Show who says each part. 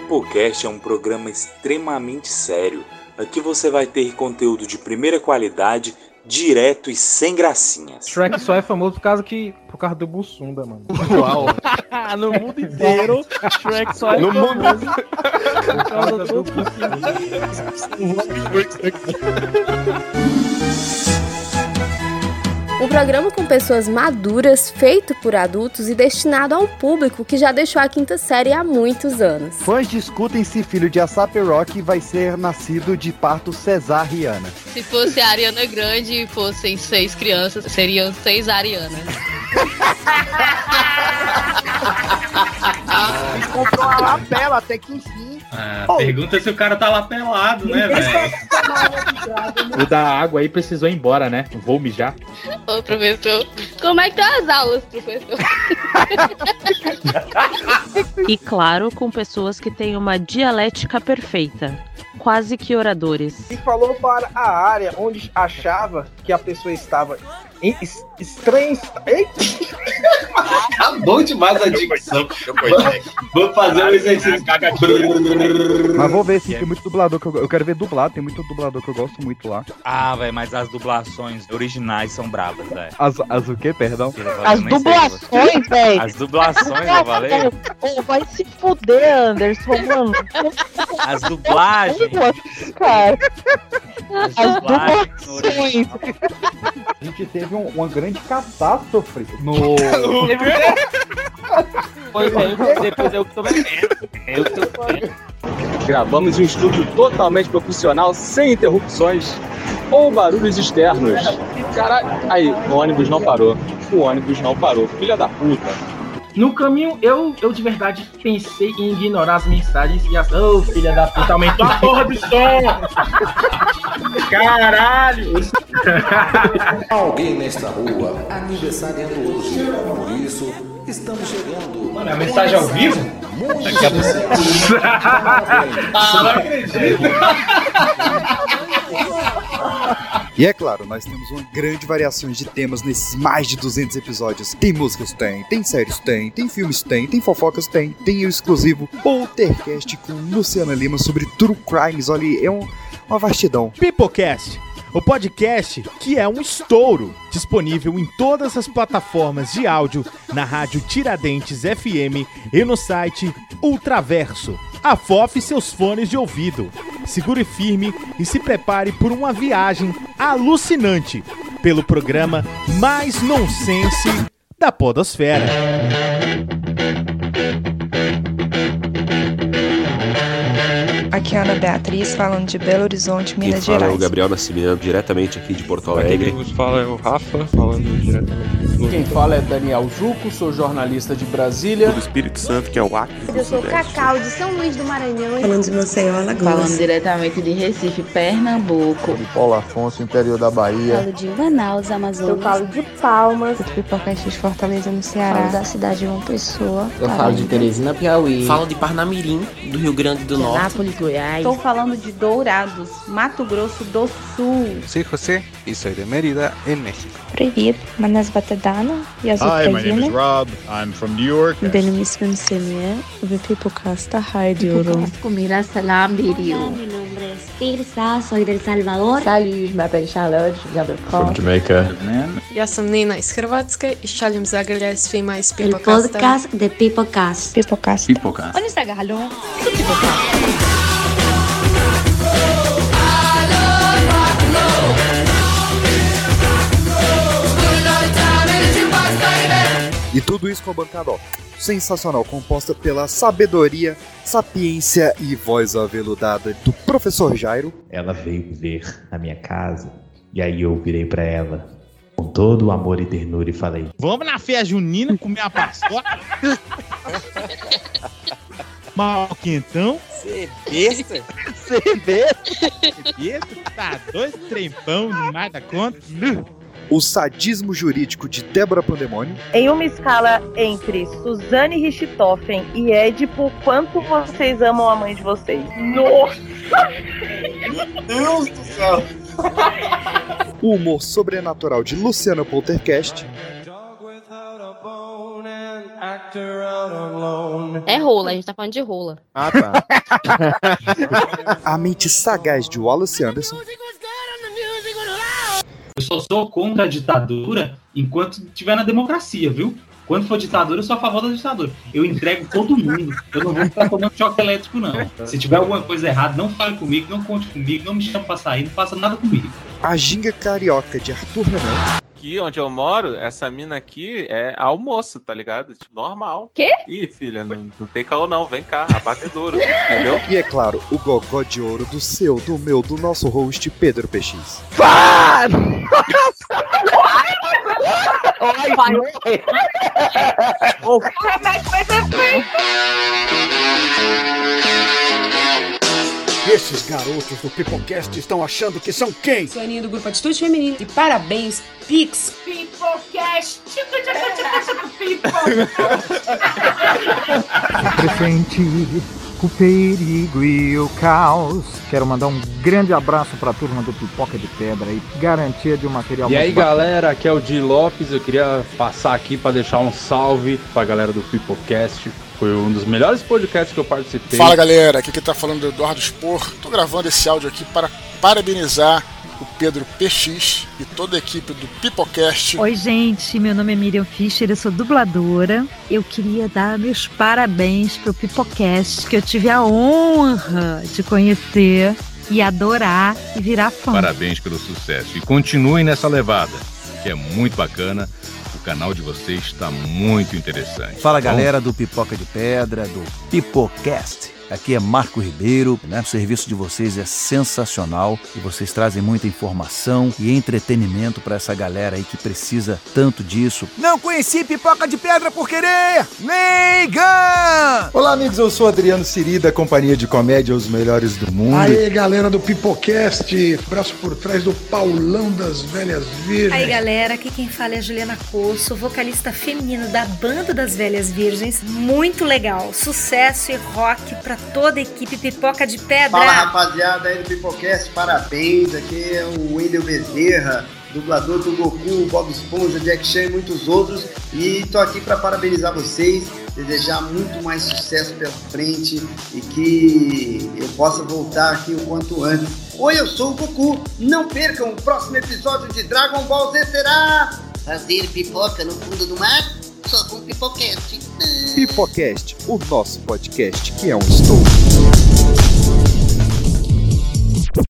Speaker 1: Pipocast é um programa extremamente sério. Aqui você vai ter conteúdo de primeira qualidade, direto e sem gracinhas.
Speaker 2: Shrek só é famoso por causa do Bussunda, mano.
Speaker 3: Uau! No mundo inteiro, Shrek só é famoso por causa do Bussunda.
Speaker 4: Um programa com pessoas maduras, feito por adultos e destinado a um público que já deixou a quinta série há muitos anos.
Speaker 5: Fãs discutem se filho de A$AP Rocky vai ser nascido de parto cesariana.
Speaker 6: Se fosse a Ariana Grande e fossem 6 crianças, seriam 6 Arianas.
Speaker 5: Comprou uma lapela até que enfim.
Speaker 7: Pergunta se o cara tá lá pelado, né, velho?
Speaker 2: O da água aí precisou ir embora, né? Vou mijar.
Speaker 6: Ô, professor, como é que estão as aulas, professor?
Speaker 8: E claro, com pessoas que têm uma dialética perfeita. Quase que oradores.
Speaker 3: E falou para a área onde achava que a pessoa estava estranha.
Speaker 7: Tá bom demais a dicção. Vou fazer um exercício.
Speaker 5: Mas vou ver se tem muito dublador que eu quero ver dublado. Tem muito dublador que eu gosto muito lá.
Speaker 1: Ah, velho, mas as dublações originais são bravas, velho.
Speaker 5: As o quê, perdão?
Speaker 8: As dublações, velho.
Speaker 1: As dublações, eu falei?
Speaker 8: Vai se fuder, Anderson, mano.
Speaker 1: As dublagens.
Speaker 8: Cara.
Speaker 1: As dublagens.
Speaker 5: A gente teve uma grande catástrofe no...
Speaker 3: Depois eu tô vendo.
Speaker 9: Gravamos um estúdio totalmente profissional, sem interrupções ou barulhos externos. Caralho, aí, o ônibus não parou. Filha da puta.
Speaker 3: No caminho, eu de verdade pensei em ignorar as mensagens e as... Ô, filha da puta, aumentou a porra do som! Caralho!
Speaker 10: Alguém nesta rua aniversariando hoje. Por isso, estamos chegando.
Speaker 7: Mano, a mensagem ao vivo? Não acredito!
Speaker 5: E é claro, nós temos uma grande variação de temas nesses mais de 200 episódios. Tem músicas? Tem séries? Tem filmes? Tem fofocas? Tem o exclusivo Poltercast com Luciana Lima sobre True Crimes. Olha, é uma vastidão.
Speaker 11: Pipocast, o podcast que é um estouro, disponível em todas as plataformas de áudio, na rádio Tiradentes FM e no site Ultraverso. Afofe seus fones de ouvido, segure firme e se prepare por uma viagem alucinante pelo programa mais nonsense da podosfera.
Speaker 12: Aqui é a Ana Beatriz, falando de Belo Horizonte, Minas Gerais.
Speaker 13: Quem fala é o Gabriel Nascimento, diretamente aqui de Porto Alegre.
Speaker 14: Quem vos fala é o Rafa, falando diretamente.
Speaker 15: Quem fala é Daniel Juco, sou jornalista de Brasília.
Speaker 14: Do Espírito Santo, que é o Acre.
Speaker 16: Eu sou Cacau, de São Luís do Maranhão.
Speaker 17: Falando de Maceió, Alagoas.
Speaker 18: Falando diretamente de Recife, Pernambuco.
Speaker 19: De Paulo Afonso, interior da Bahia.
Speaker 20: Falo de Manaus, Amazonas.
Speaker 6: Eu falo de Palmas.
Speaker 3: Eu de Pipocast de Fortaleza, no Ceará.
Speaker 20: Falo da cidade de João Pessoa.
Speaker 16: Eu falo de Teresina, Piauí.
Speaker 1: Falo de Parnamirim, do Rio Grande do Norte.
Speaker 11: Anápolis, Goiás.
Speaker 8: Estou falando de Dourados, Mato Grosso do Sul.
Speaker 14: Soy José y soy de Mérida, en México.
Speaker 12: Привет, меня зовут Дана, я из
Speaker 21: Hi, my name is Rob. I'm from New York.
Speaker 22: Benim ismim Semih ve Pipocast'a haydi yorum.
Speaker 23: Comida salam video.
Speaker 24: Mi nombre es Tirsa, soy del Salvador.
Speaker 25: Salut, je m'appelle Charlotte, je viens de France.
Speaker 26: From Jamaica.
Speaker 27: Я sam Nina iz Hrvatske i šaljem zagrljaj svima iz
Speaker 24: El podcast de Pipocast.
Speaker 12: Pipocast.
Speaker 26: Pipocast.
Speaker 8: Onde está Gargalhão? Pipocast.
Speaker 5: E tudo isso com a bancada, sensacional, composta pela sabedoria, sapiência e voz aveludada do professor Jairo.
Speaker 28: Ela veio ver a minha casa, e aí eu virei pra ela, com todo o amor e ternura, e falei:
Speaker 11: vamos na festa junina comer uma paçoca? Mal quentão?
Speaker 1: Cê besta?
Speaker 11: Cê besta? Tá doido, trempão demais da conta.
Speaker 5: O sadismo jurídico de Débora Pandemônio.
Speaker 29: Em uma escala entre Suzane Richthofen e Édipo, quanto vocês amam a mãe de vocês?
Speaker 3: Nossa! Meu Deus do céu!
Speaker 5: O humor sobrenatural de Luciana Poltercast.
Speaker 6: É rola, a gente tá falando de rola.
Speaker 2: Ah, tá.
Speaker 5: A mente sagaz de Wallace Anderson.
Speaker 4: Eu só sou contra a ditadura enquanto estiver na democracia, viu? Quando for ditadura, eu sou a favor da ditadura. Eu entrego todo mundo. Eu não vou ficar tomando choque elétrico, não. Se tiver alguma coisa errada, não fale comigo, não conte comigo, não me chame pra sair, não faça nada comigo.
Speaker 5: A ginga carioca de Arthur Renan.
Speaker 7: Aqui onde eu moro, essa mina aqui é almoço, tá ligado? Tipo, normal.
Speaker 6: Quê?
Speaker 7: Ih, filha, não tem caô não, vem cá, abatedouro, entendeu?
Speaker 5: E é claro, o gogó de ouro do seu, do meu, do nosso host, Pedro PX.
Speaker 3: Vai!
Speaker 29: O remédio vai ser feito.
Speaker 9: Esses garotos do Pipocast estão achando que são quem?
Speaker 10: Sou a Aninha do Grupo Atitude Feminina. E parabéns, Pix.
Speaker 29: Pipocast.
Speaker 13: Presente o perigo e o caos. Quero mandar um grande abraço pra turma do Pipoca de Pedra e garantia de um material.
Speaker 15: E aí, galera, aqui é o Di Lopes. Eu queria passar aqui pra deixar um salve pra galera do Pipocast. Foi um dos melhores podcasts que eu participei.
Speaker 17: Fala, galera, aqui quem tá falando é o Eduardo Spor. Tô gravando esse áudio aqui para parabenizar o Pedro PX e toda a equipe do Pipocast.
Speaker 26: Oi, gente, meu nome é Miriam Fischer, eu sou dubladora. Eu queria dar meus parabéns pro Pipocast, que eu tive a honra de conhecer e adorar e virar fã.
Speaker 30: Parabéns pelo sucesso e continuem nessa levada, que é muito bacana. O canal de vocês está muito interessante.
Speaker 31: Fala, galera do Pipoca de Pedra, do Pipocast. Aqui é Marco Ribeiro, né? O serviço de vocês é sensacional e vocês trazem muita informação e entretenimento para essa galera aí que precisa tanto disso.
Speaker 9: Não conheci Pipoca de Pedra por querer! Leigan!
Speaker 5: Olá, amigos, eu sou Adriano Siri, da Companhia de Comédia Os Melhores do Mundo.
Speaker 9: Aí, galera do Pipocast, braço por trás do Paulão das Velhas Virgens.
Speaker 32: Aí, galera, aqui quem fala é a Juliana Cosso, vocalista feminina da Banda das Velhas Virgens. Muito legal, sucesso e rock pra toda a equipe Pipoca de Pedra.
Speaker 33: Fala, rapaziada aí do Pipocast, parabéns. Aqui é o Wendel Bezerra, dublador do Goku, Bob Esponja, Jack Chan e muitos outros. E tô aqui para parabenizar vocês, desejar muito mais sucesso pela frente e que eu possa voltar aqui o quanto antes. Oi, eu sou o Goku. Não percam o próximo episódio de Dragon Ball Z será fazer pipoca no fundo do mar só com Pipocast.
Speaker 5: Pipocast, o nosso podcast que é um estouro.